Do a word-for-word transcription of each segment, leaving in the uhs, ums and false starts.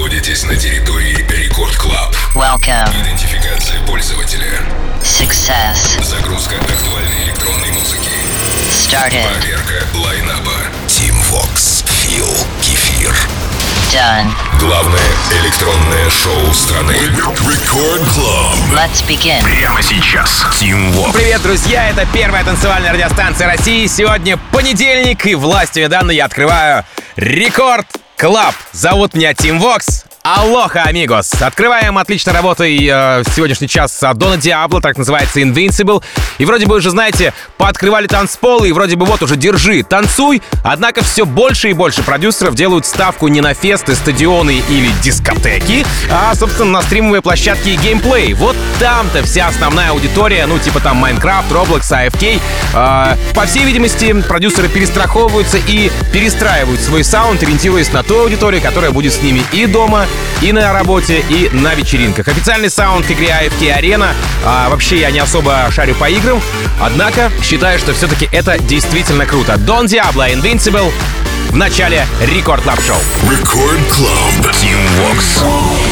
находитесь на территории Рекорд Клаб. Welcome. Идентификация пользователя. Success. Загрузка актуальной электронной музыки. Started. Проверка лайнаба. Team Vox. Фил. Кефир. Done. Главное электронное шоу страны. Рекорд Клаб. Let's begin. Прямо сейчас. Team Vox. Привет, друзья! Это первая танцевальная радиостанция России. Сегодня понедельник, и властью данной я открываю Рекорд Клаб. Зовут меня Team Vox. Алоха, амигос! Открываем отлично работой э, сегодняшний час Дона Диабло, так называется Invincible. И вроде бы уже, знаете, пооткрывали танцполы, и вроде бы вот уже держи, танцуй. Однако все больше и больше продюсеров делают ставку не на фесты, стадионы или дискотеки, а, собственно, на стримовые площадки и геймплей. Вот там-то вся основная аудитория, ну типа там Minecraft, Roblox, эй эф кей. Э, по всей видимости, продюсеры перестраховываются и перестраивают свой саунд, ориентируясь на ту аудиторию, которая будет с ними и дома, и на работе, и на вечеринках. Официальный саунд к игре эй эф кей Arena. А, вообще я не особо шарю по играм, однако считаю, что все-таки это действительно круто. Don Diablo, Invincible в начале Рекорд Клаб Шоу. Рекорд Клаб. Team Vox.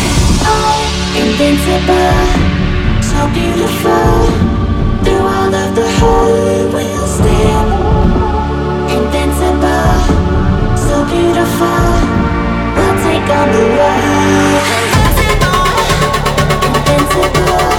Invincible, so beautiful. Through all of the hurt we'll stand. Invincible, so beautiful. We'll take on the world. Invincible.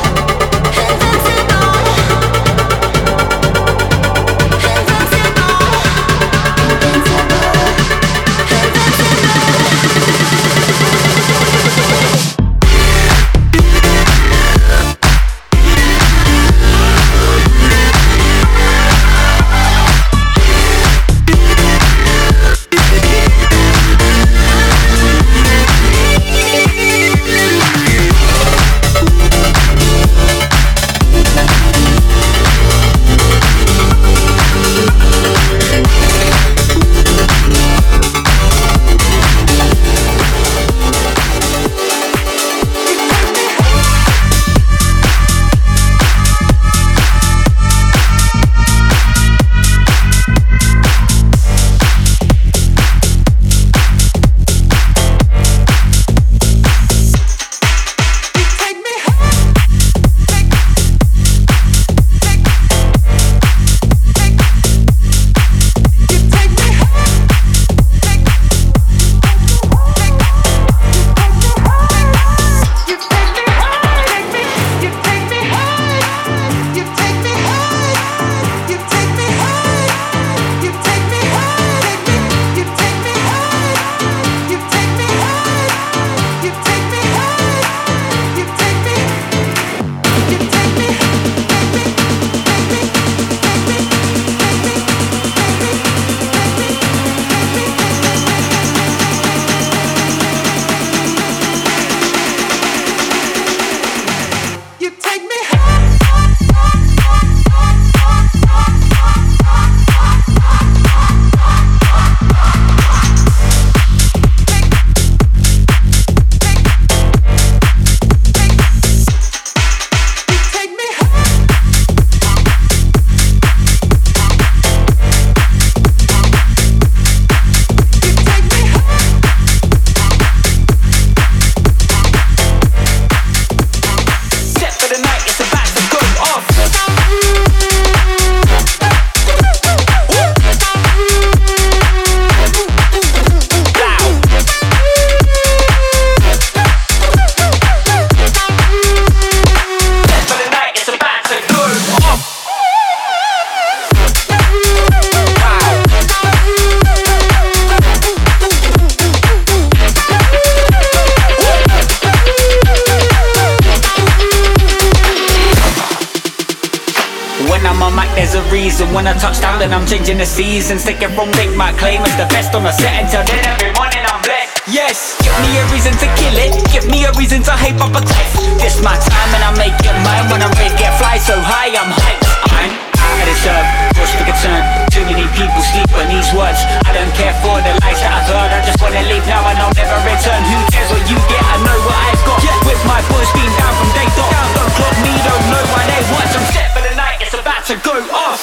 When I touch down, then I'm changing the seasons. Take it from make my claim as the best on the set. Until then, every morning I'm blessed. Yes, give me a reason to kill it. Give me a reason to hype up a cliff. This my time and I make it mine. When I'm ready, get fly so high, I'm hyped. I'm out of this earth, what's the concern? Too many people sleep on these words. I don't care for the lies that I've heard. I just wanna leave now and I'll never return. Who cares what you get? I know what I've got. Yeah. With my boys being down from day dot. Don't clock me, don't know why they watch. I'm set for the night, it's about to go off.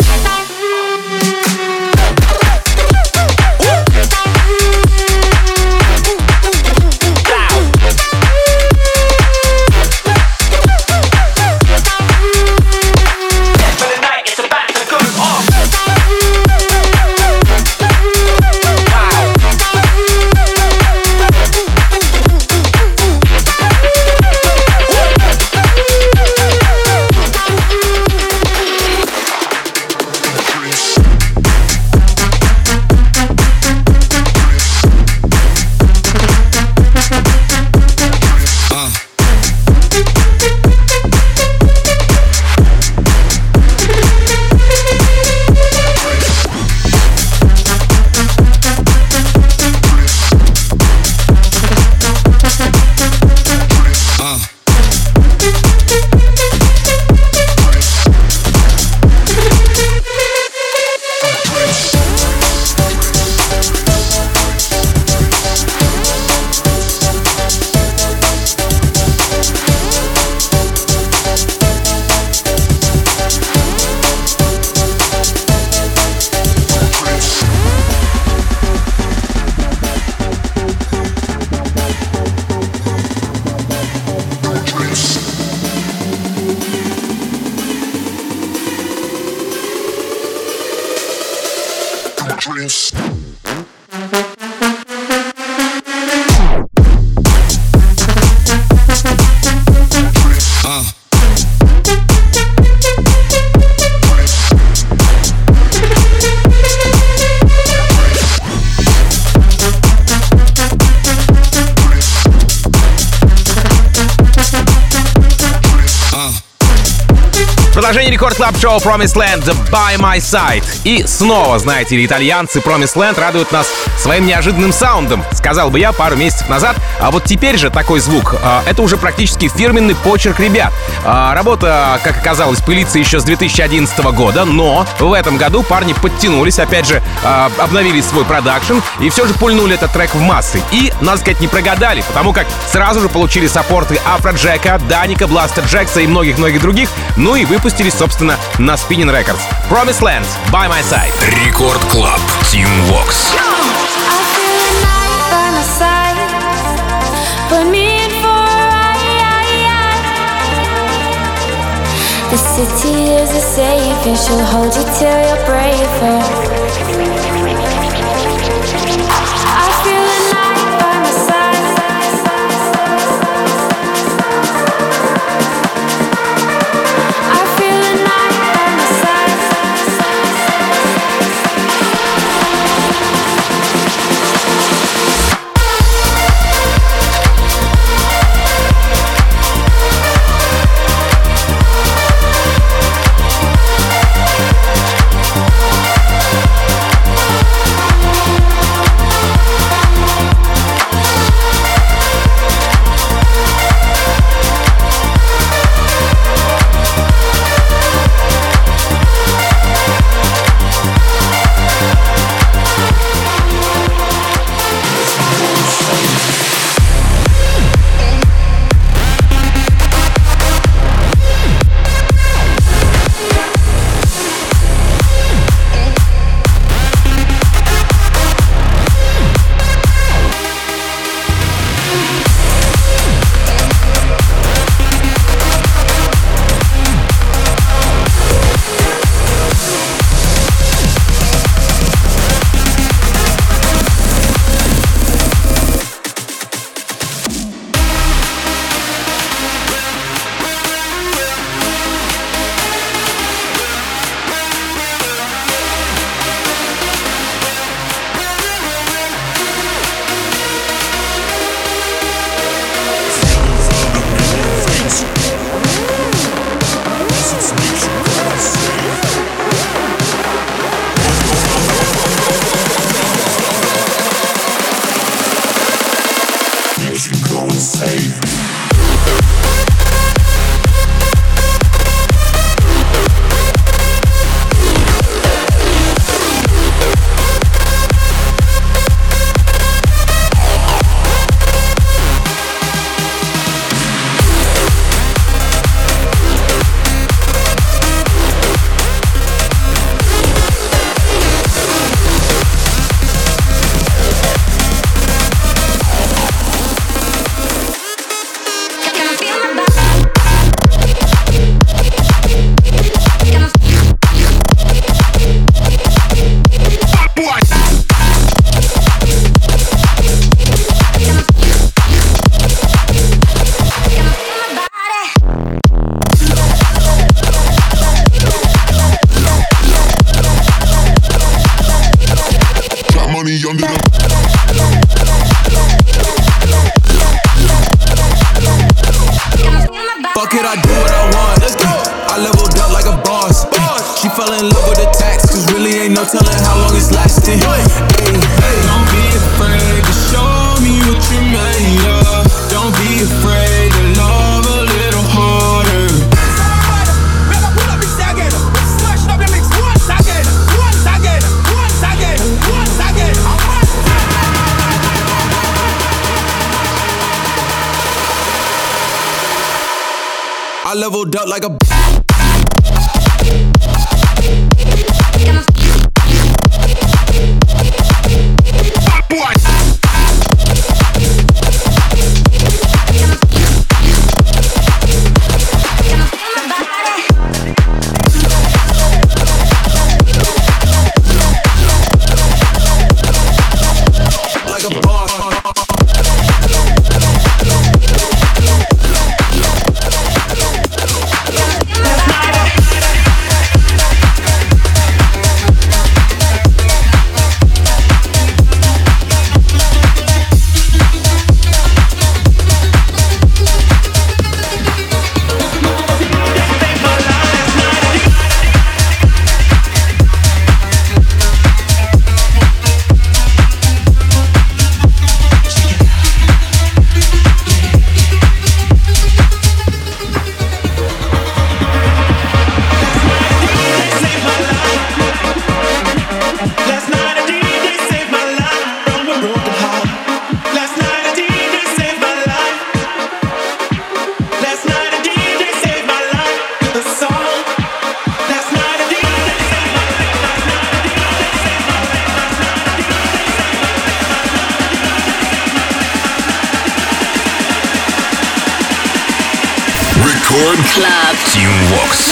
Loud. Продолжение Рекорд Клаб Шоу Promised Land By My Side. И снова, знаете ли, итальянцы Promised Land радуют нас своим неожиданным саундом, сказал бы я пару месяцев назад. А вот теперь же такой звук, это уже практически фирменный почерк ребят. Работа, как оказалось, пылится еще с две тысячи одиннадцатого года, но в этом году парни подтянулись, опять же, обновили свой продакшн и все же пульнули этот трек в массы. И, надо сказать, не прогадали, потому как сразу же получили саппорты Афроджека, Даника, Бластер Джекса и многих-многих других, ну и выпустились, собственно, на Spinnin' Records. Promised Land, By My Side. Рекорд Клаб, Team Vox. The city is a safe and she'll hold you till you're braver. I feel a night by my side. I feel a night by my side. I leveled up like a Record Club. Team Vox.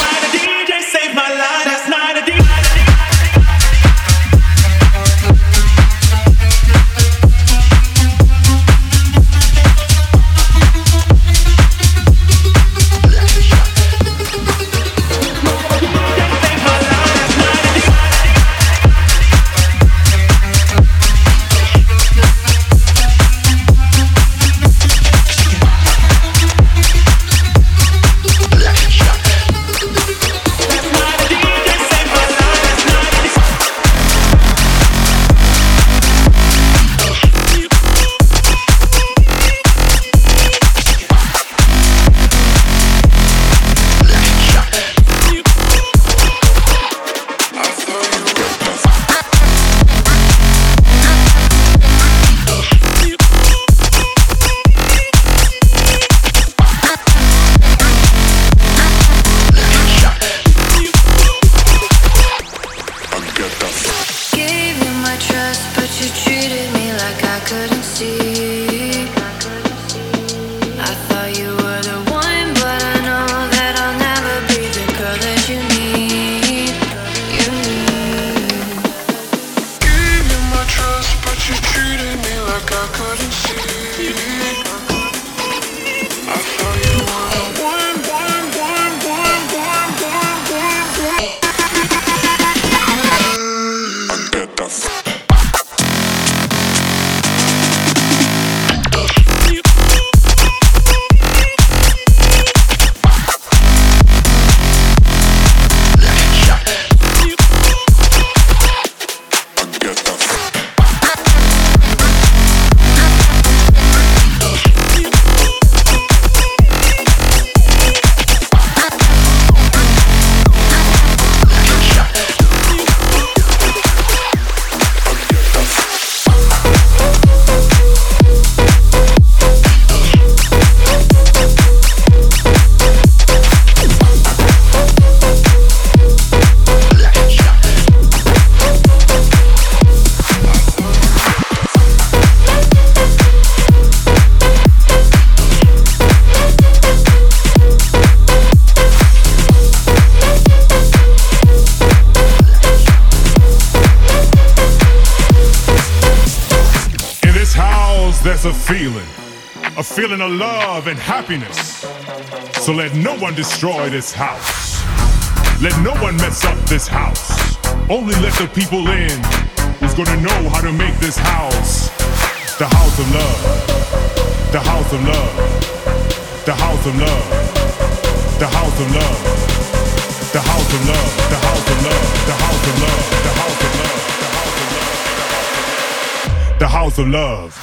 There's a feeling, a feeling of love and happiness. So let no one destroy this house. Let no one mess up this house. Only let the people in who's gonna know how to make this house the house of love. The house of love. The house of love. The house of love. The house of love. The house of love. The house of love. The house of love. The house of love. The house of love.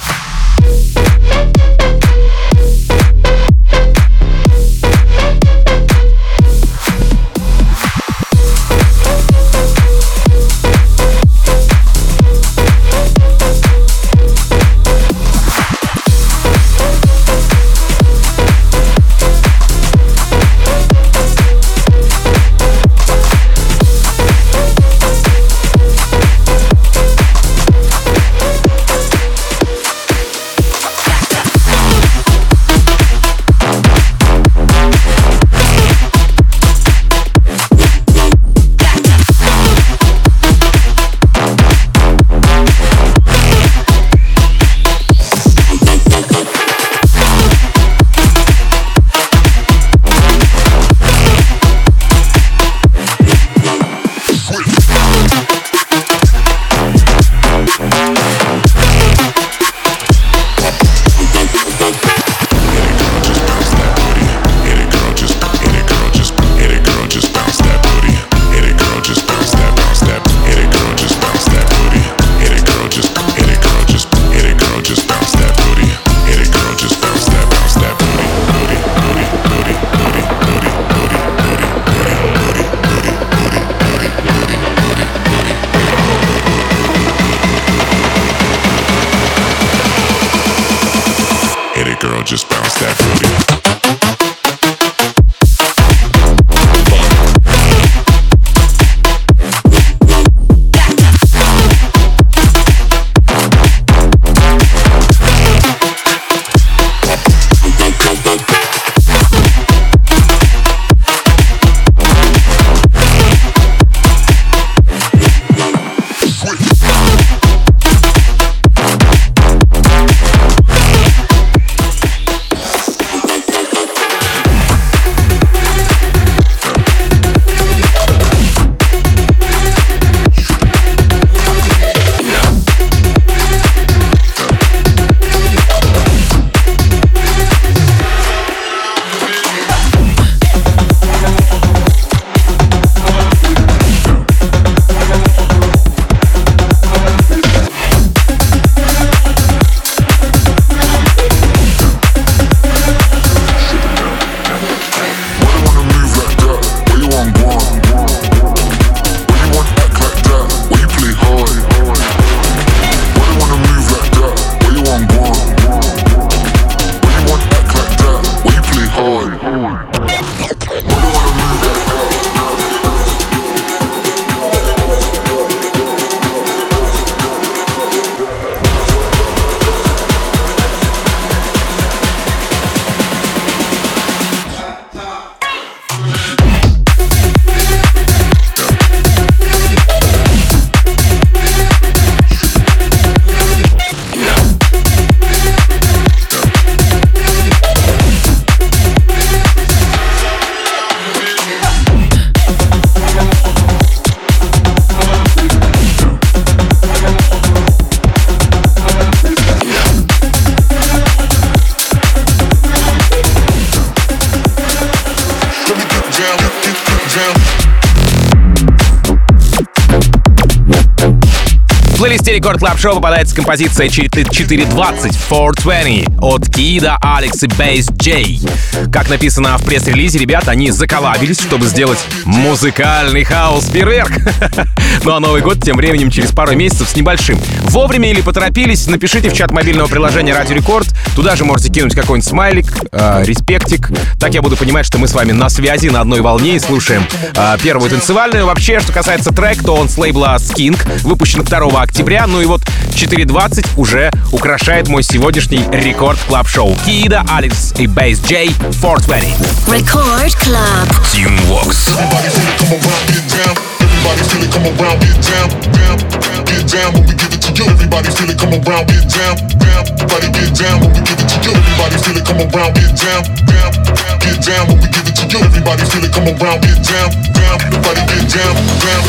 плейлисте Рекорд Клаб Шоу попадается композиция четыре двадцать четыреста двадцать от Кида, Алекс и Бейс Джей. Как написано в пресс-релизе, ребята, они заколабились, чтобы сделать музыкальный хаус-фейерверк. Ну а Новый год тем временем через пару месяцев с небольшим. Вовремя или поторопились, напишите в чат мобильного приложения Радио Рекорд. Туда же можете кинуть какой-нибудь смайлик, э, респектик. Так я буду понимать, что мы с вами на связи, на одной волне и слушаем э, первую танцевальную. Вообще, что касается трека, то он с лейбла Skink, выпущен второго октября. Ну и вот четыре двадцать уже украшает мой сегодняшний Рекорд Клаб Шоу. Кида, Алекс и Бейс Джей, четыреста двадцать. Record Club. Team Vox. Everybody feel it, come around, get down, down, get down when we give it to you. Everybody feel it, come around, get down, down. Everybody get down when we give it to you. Everybody feel it, come around, get down, down, get down when we give it to you. Everybody feel it, come around, get down, down. Everybody get down, down.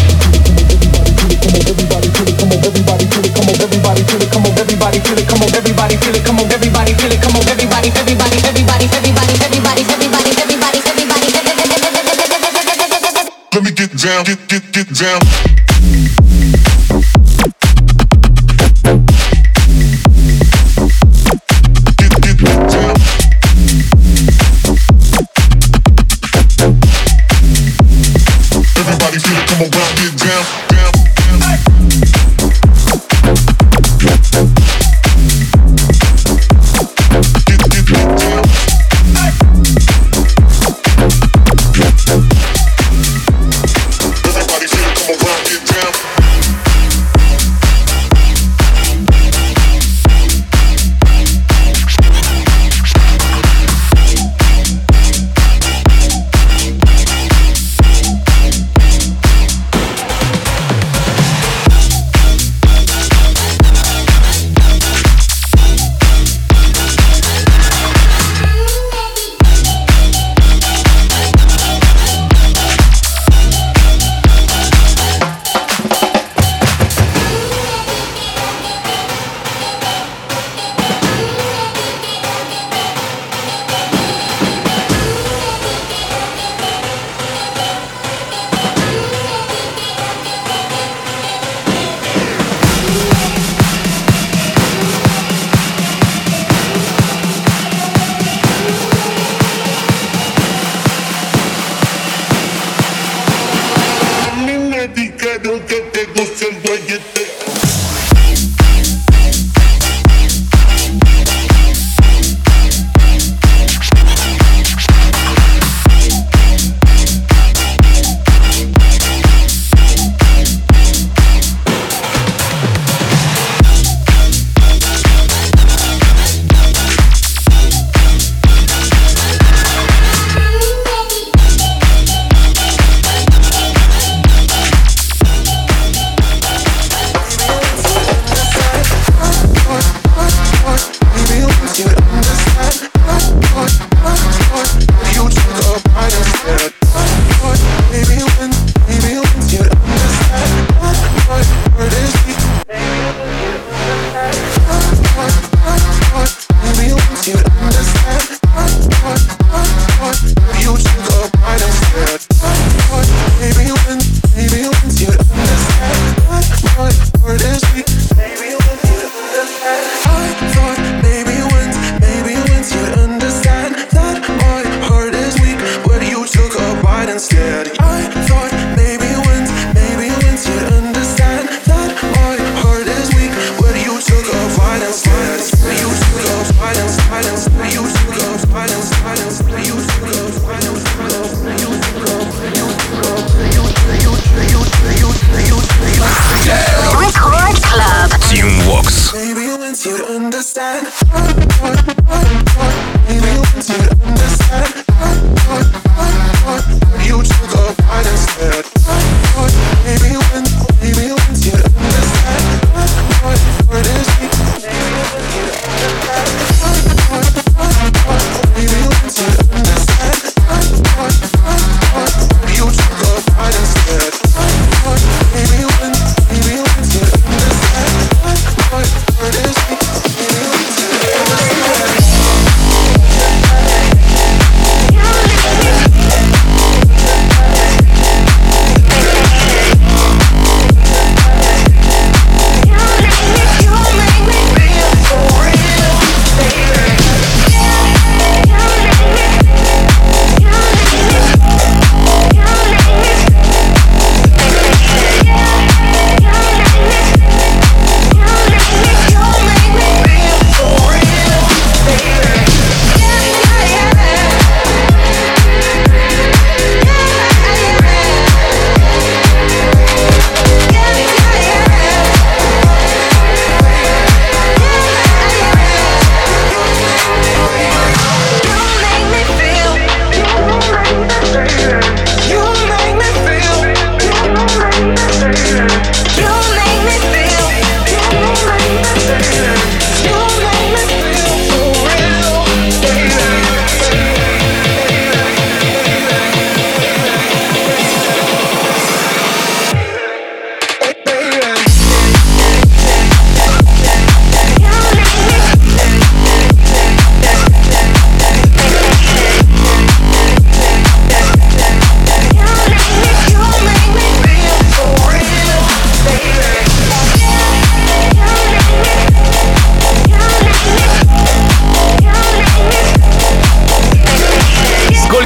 Everybody feel it, come on, everybody feel it, come on, everybody feel it, come on, everybody feel it, come on, everybody feel it, come on, everybody feel it, come on, everybody, everybody, everybody, everybody, everybody, everybody, everybody, everybody. Let me get down, get, get, get down. Get, get down. Everybody feel it, come around, get down, down, down.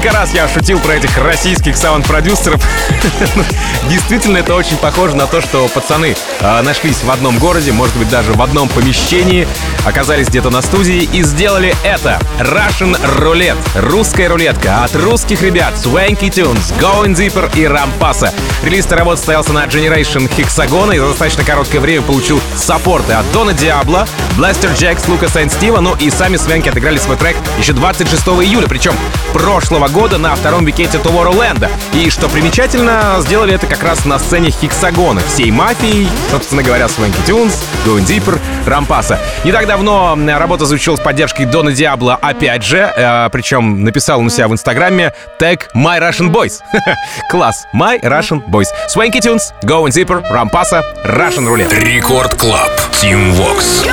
Сколько раз я шутил про этих российских саунд-продюсеров. Действительно, это очень похоже на то, что пацаны э, нашлись в одном городе, может быть, даже в одном помещении, оказались где-то на студии и сделали это. Russian Roulette. Русская рулетка от русских ребят Swanky Tunes, Going Deeper и Рампаса. Релиз этой работы состоялся на Generation Hexagon и за достаточно короткое время получил саппорты от Дона Диабло, Blaster Jacks, Лукаса и Стива, ну и сами Свенки отыграли свой трек еще двадцать шестого июля, причем прошлого года на втором викенде Tomorrowland. И что примечательно, сделали это как раз на сцене Хексагона, всей мафией, собственно говоря, Swanky Tunes, Going Deeper, Рампаса. Не так давно работа звучала с поддержкой Дона Диабло опять же, э, причем написал он у себя в инстаграме тег My Russian Boys. Класс, My Russian Boys. Swanky Tunes, Going Deeper, Рампаса, Russian Roulette. Рекорд Клаб, Team Vox.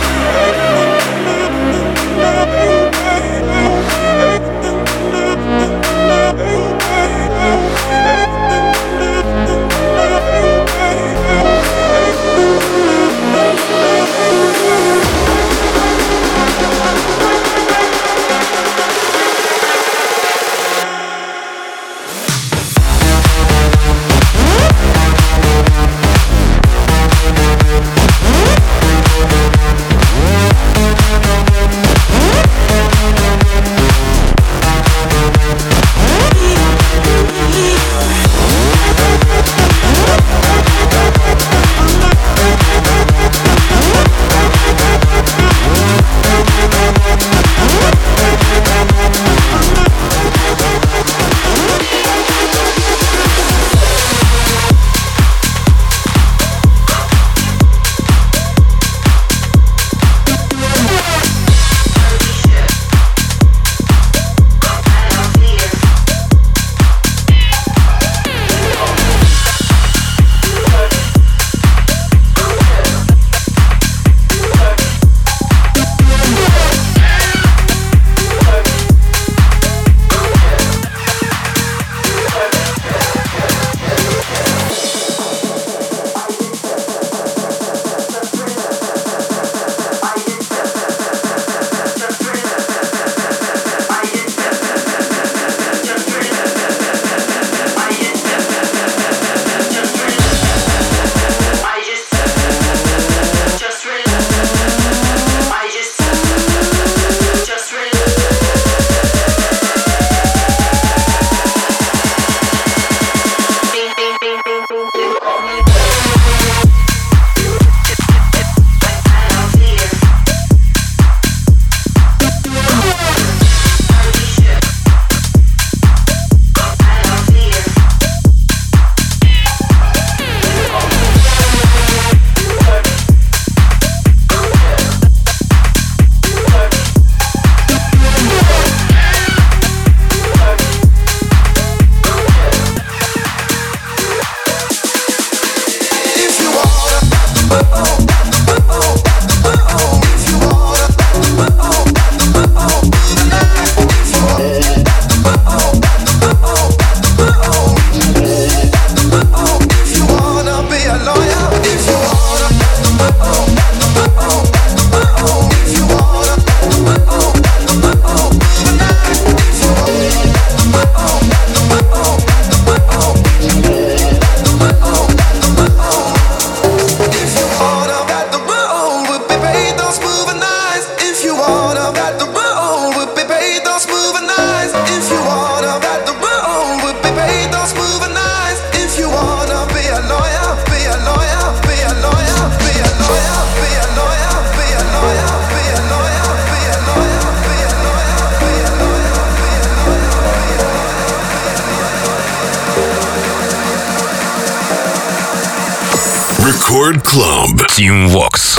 Record Club, Team Vox.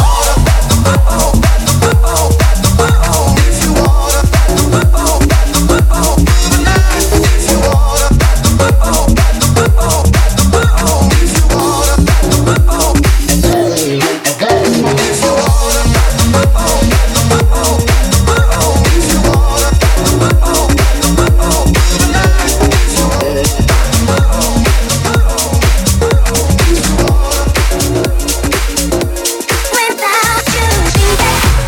Without you,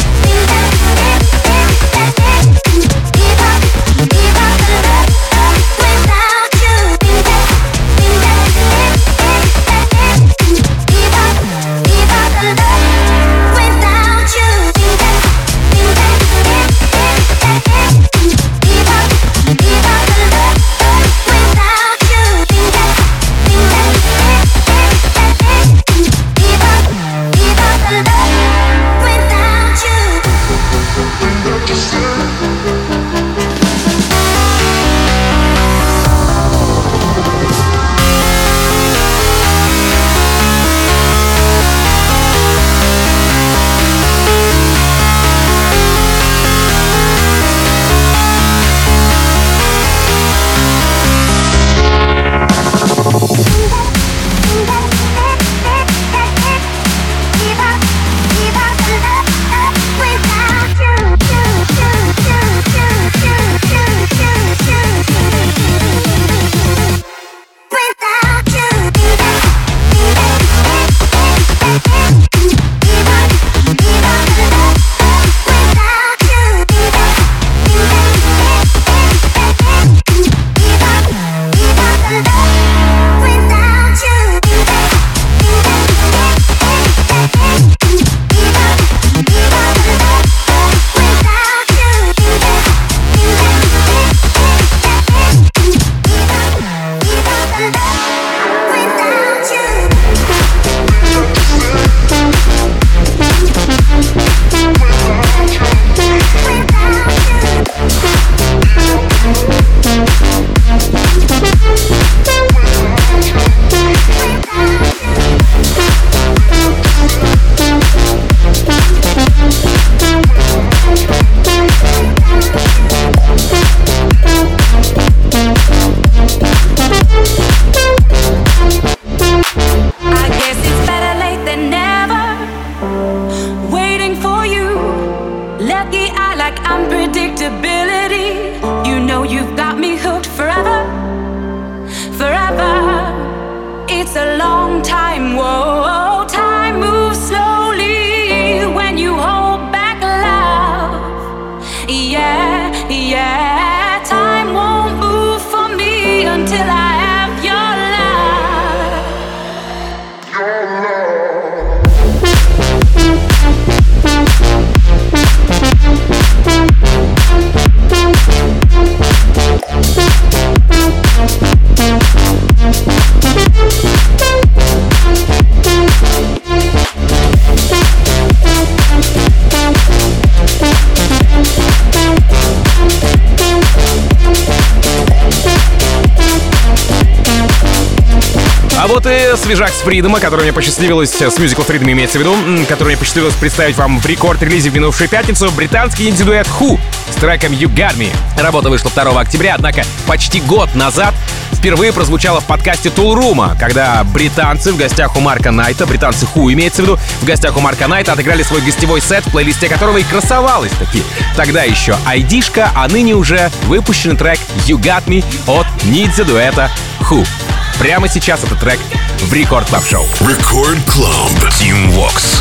А вот и свежак с Фридома, который мне посчастливилось, с мюзикла Freedom имеется в виду, который мне посчастливилось представить вам в рекорд-релизе в минувшую пятницу, британский инди-дуэт Who с треком You Got Me. Работа вышла второго октября, однако почти год назад впервые прозвучала в подкасте Toolroom, когда британцы в гостях у Марка Найта, британцы Who имеется в виду, в гостях у Марка Найта отыграли свой гостевой сет, в плейлисте которого и красовалась таки тогда еще айдишка, а ныне уже выпущенный трек You Got Me от ниндзя-дуэта Who. Прямо сейчас этот трек в Рекорд Клаб Шоу. Рекорд Клаб. Team Vox.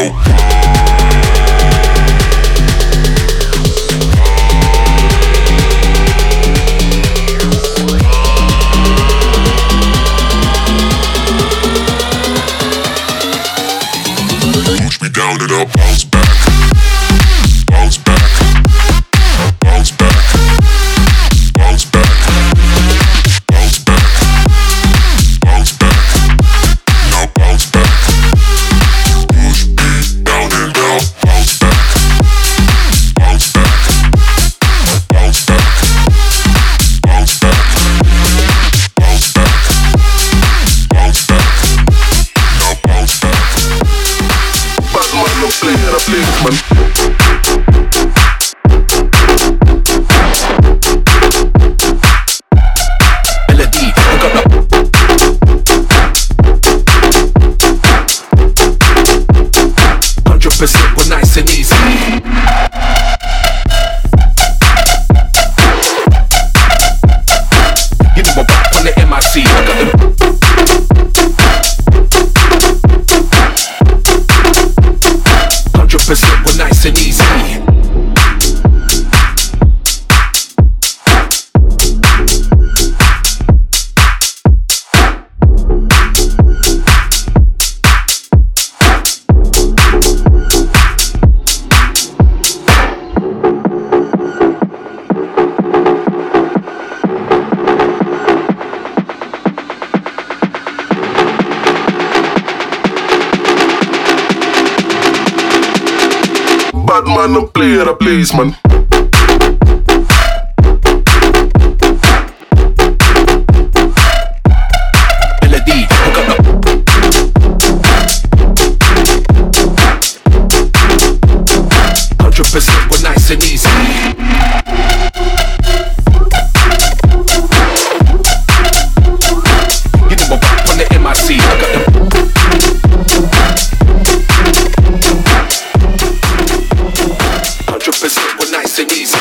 Push me down and I'll bounce back, bounce back, bounce back, bounce back, bounce back, bounce back, now bounce back. Push me down and I'll bounce back, bounce back, bounce back, bounce back, bounce back, bounce back, now bounce back. Batman no player, a policeman. Melody, I got the hundred percent, we're nice and easy. You know my back on the M I C, I got them. Hundred percent, we're nice and easy. Batman no player, a policeman. Melody, I got the hundred percent, we're nice and easy. You know my back on the M I C, I got them. Hundred percent, we're nice and easy.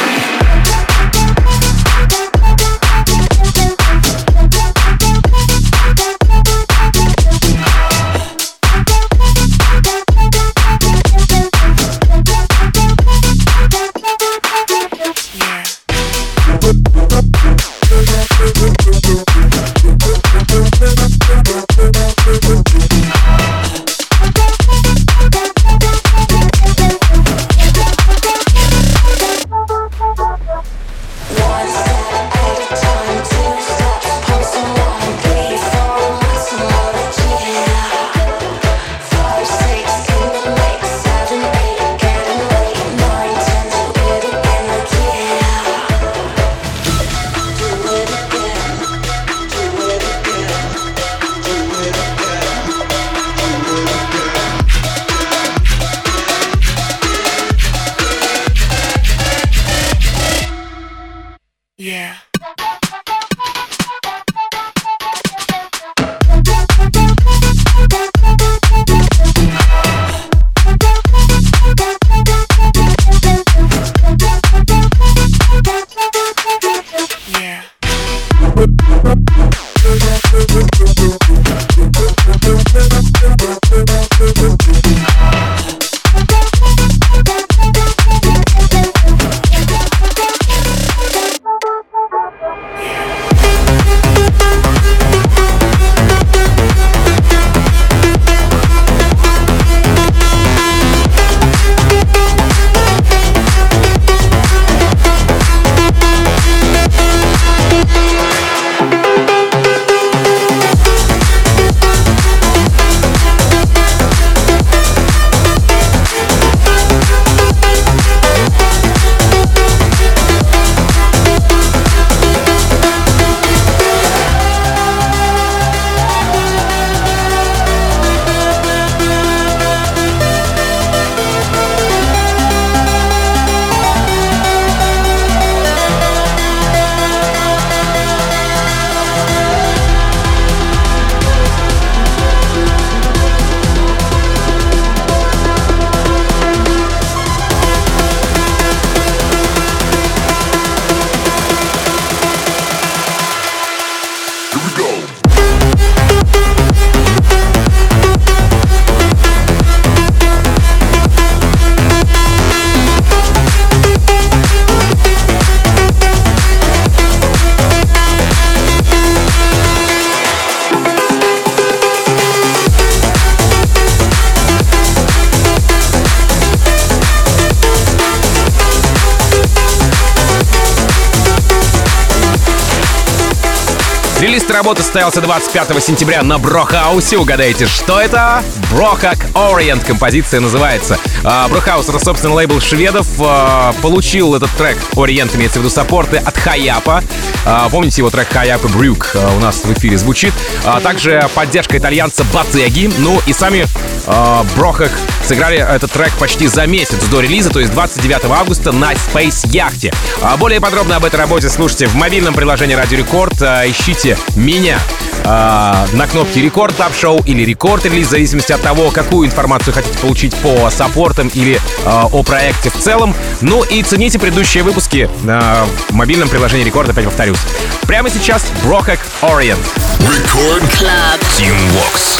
Релиз работы состоялся двадцать пятого сентября на Брохаусе. Угадайте, что это? Брохак Orient композиция называется. Брохаус — это, собственно, лейбл шведов. Получил этот трек, Orient имеется в виду, саппорты от Хаяпа. Помните его трек Хаяпа Брюк у нас в эфире звучит. Также поддержка итальянца Батеги. Ну и сами Брохак сыграли этот трек почти за месяц до релиза, то есть двадцать девятого августа на Space Яхте. Более подробно об этой работе слушайте в мобильном приложении Радио Рекорд. Ищите меня на кнопке Рекорд Клаб Шоу или Рекорд Релиз, в зависимости от того, какую информацию хотите получить по саппортам или о проекте в целом. Ну и цените предыдущие выпуски в мобильном приложении Рекорд, опять повторюсь. Прямо сейчас Брохак Orient. Record Club Team Vox.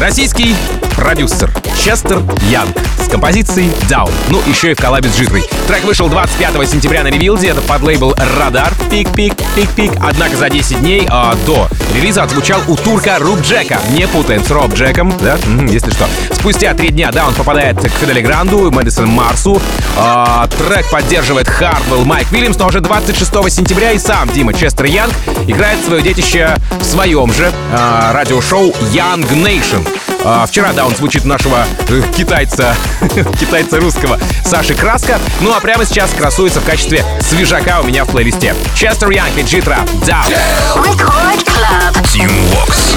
Российский продюсер Честер Янг с композицией Down. Ну, еще и в коллабе с Джитрой. Трек вышел двадцать пятого сентября на ревилде. Это под лейбл Радар. Пик-пик, пик-пик. Однако за десять дней а, до релиза отзвучал у турка Руб Джека. Не путаем с Роб Джеком, да? М-м, если что. Спустя три дня Down попадает к Фидели Гранду и Мэдисон Марсу. А, трек поддерживает Хардвелл Майк Уильямс, но уже двадцать шестого сентября и сам Дима Честер Янг играет свое детище в своем же а, радиошоу Young Nation. А, вчера Down звучит нашего э, китайца, китайца русского Саши Краска. Ну а прямо сейчас красуется в качестве свежака у меня в плейлисте. Честер Янг и Джитра Down. Record Club. Team Vox.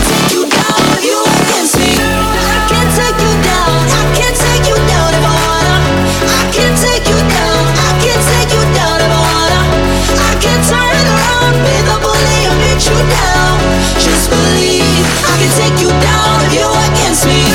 Just believe I can take you down if you're against me.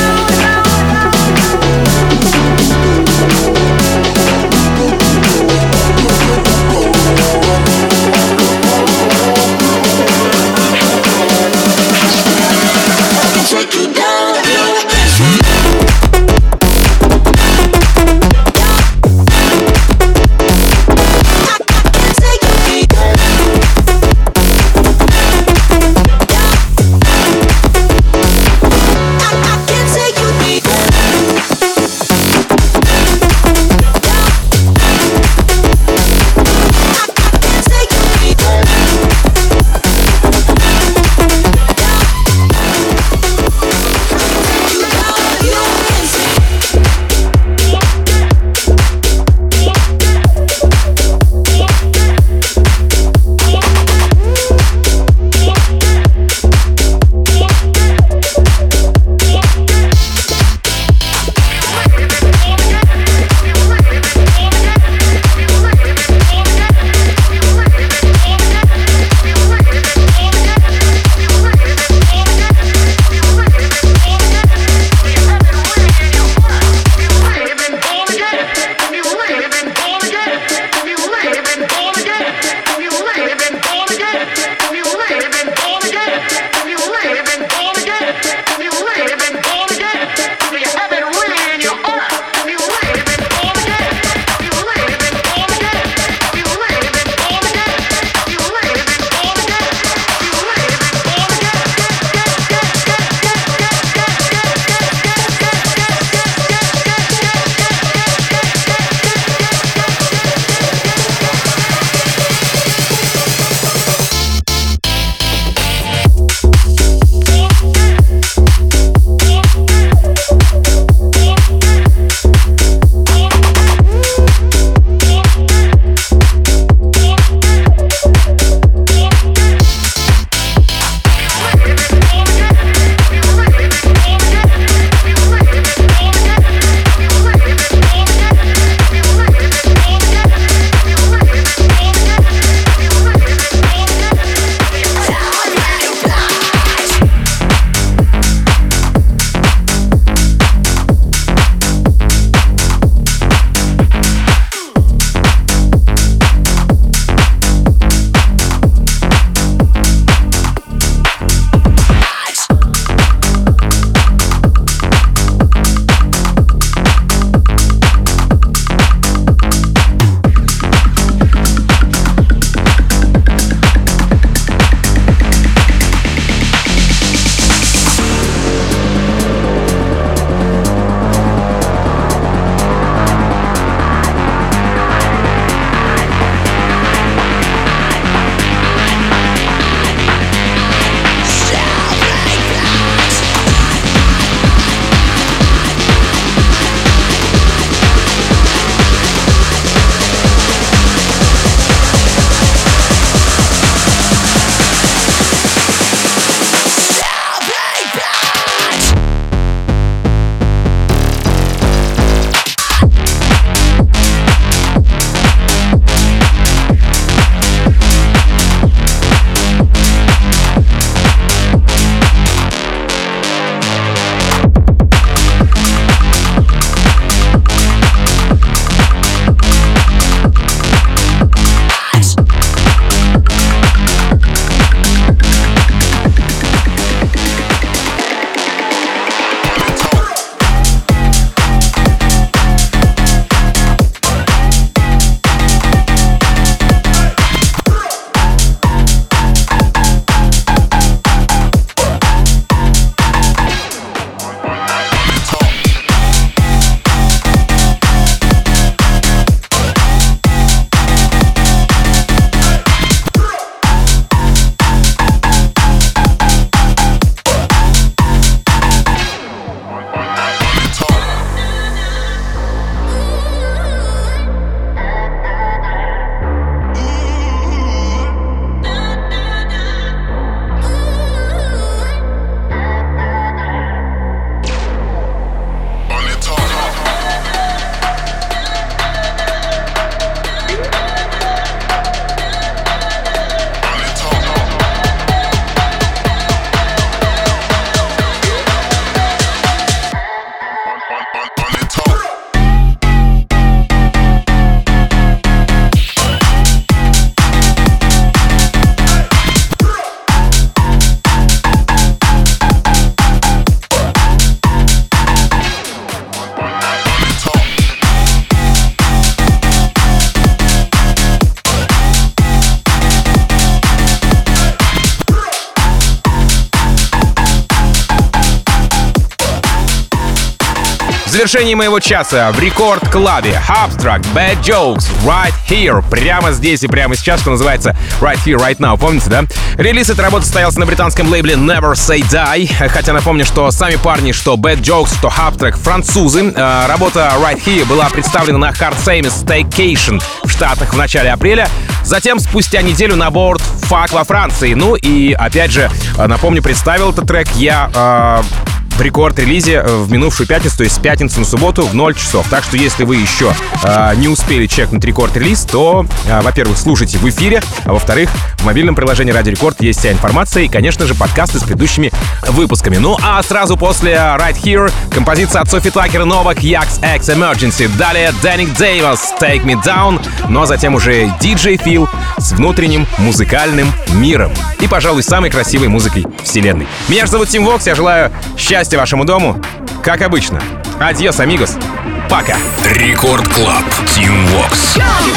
завершении моего часа в рекорд-клабе Abstract, Bad Jokes, Right Here, прямо здесь и прямо сейчас, что называется Right Here, Right Now, помните, да? Релиз этой работы состоялся на британском лейбле Never Say Die, хотя напомню, что сами парни, что Bad Jokes, что Abstract, французы. Работа Right Here была представлена на Hard Same Staycation в Штатах в начале апреля, затем спустя неделю на борт Fuck во Франции. Ну и опять же, напомню, представил этот трек я э, в рекорд-релизе в минувшую пятницу, то есть с пятницы на субботу в ноль часов. Так что если вы еще э, не успели чекнуть рекорд-релиз, то, э, во-первых, слушайте в эфире, а во-вторых, в мобильном приложении Радио Рекорд есть вся информация и, конечно же, подкасты с предыдущими выпусками. Ну а сразу после Right Here композиция от Софи Такер, Новак, Яx X Emergency. Далее Дэник Дэвис, Take Me Down, но затем уже диджей Фил с внутренним музыкальным миром и, пожалуй, самой красивой музыкой вселенной. Меня же зовут Тим Вокс, я желаю счастья вашему дому, как обычно. Адьос, амигос. Пока. Рекорд Клаб. Тим Вокс.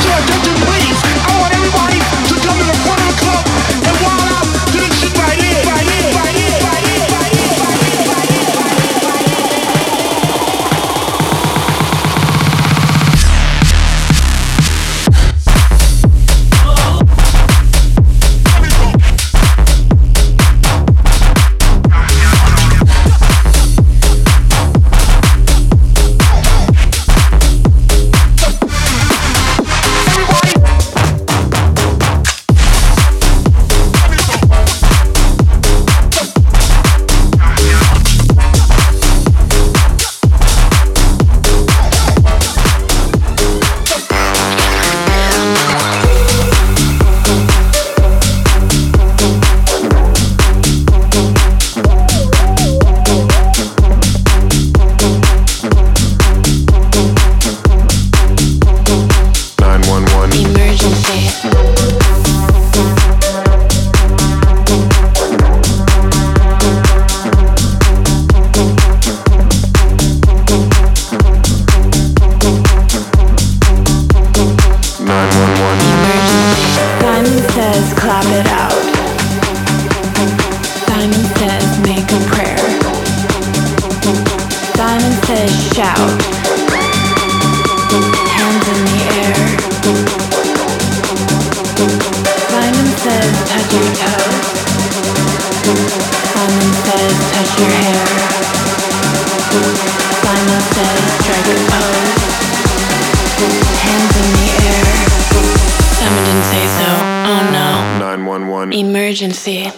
Emergency.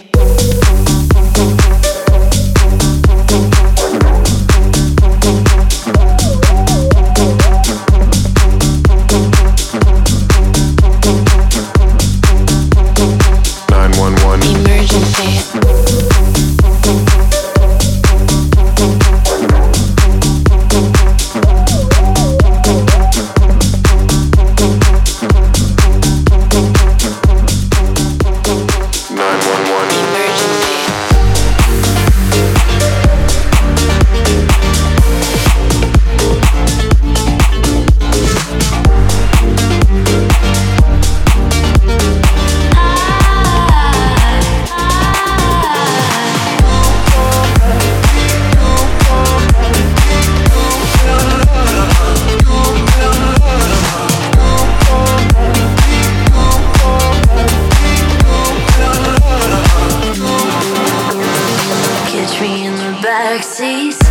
Catch me in the backseat.